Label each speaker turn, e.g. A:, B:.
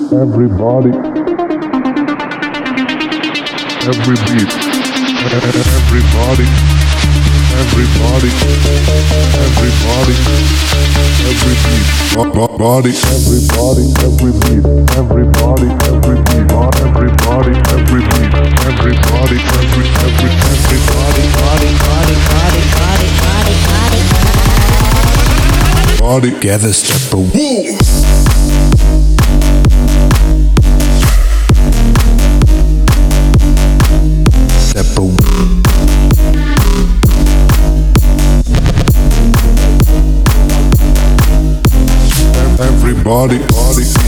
A: everybody, every beat, everybody, everybody, everybody, every beat, body, everybody, every beat, everybody, every beat, everybody, every beat, everybody, everybody, body, gather step away. Step away. Everybody, body.